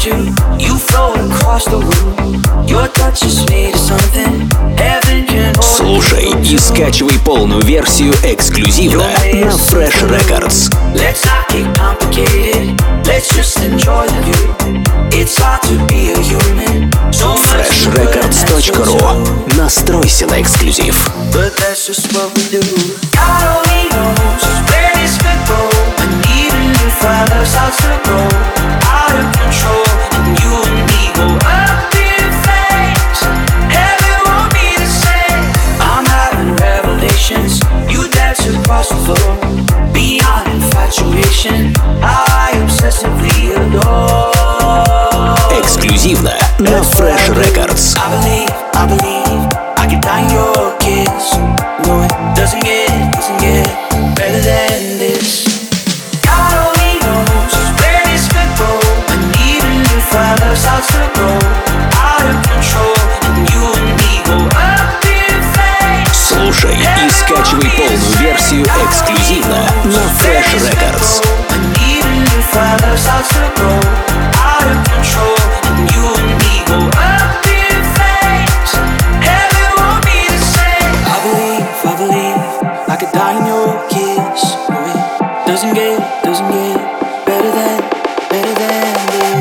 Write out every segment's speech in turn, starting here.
around you. You float across the room. Your touch is made of something heaven can hold. Слушай и скачивай полную версию эксклюзивно на Fresh Records. Let's not get complicated. Let's just enjoy the view. It's hard to be a human. So much freshrecords.ru. Настройся на эксклюзив. But that's just what we do. God only knows where this could go. And even if our love starts to grow out of control, and you and me go up in flames, heaven won't be the same. I'm having revelations. You dance across the floor. Beyond infatuation, how I obsessively adore. Эксклюзивно на Fresh Records. I believe I could die in your kiss. No, it doesn't get better than this. God only knows where this could go. And even if our love starts to grow out of control, and you and me go up in flames. Слушай и скачивай полную версию эксклюзивно на Fresh Records. And even if our love starts to grow out of control, and you and me go up in flames, heaven won't be the same. I believe I could die in your kiss. No, it doesn't get better than this.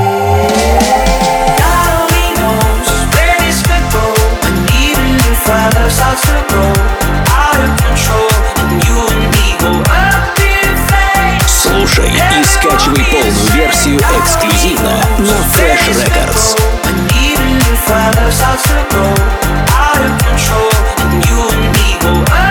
God only knows where this could go. And even if our love starts to grow out of control, and you and me go up in flames. Слушай и скачивай полную версию эксклюзивно на Fresh Records. And even if our love starts to grow out of control, and you and me go up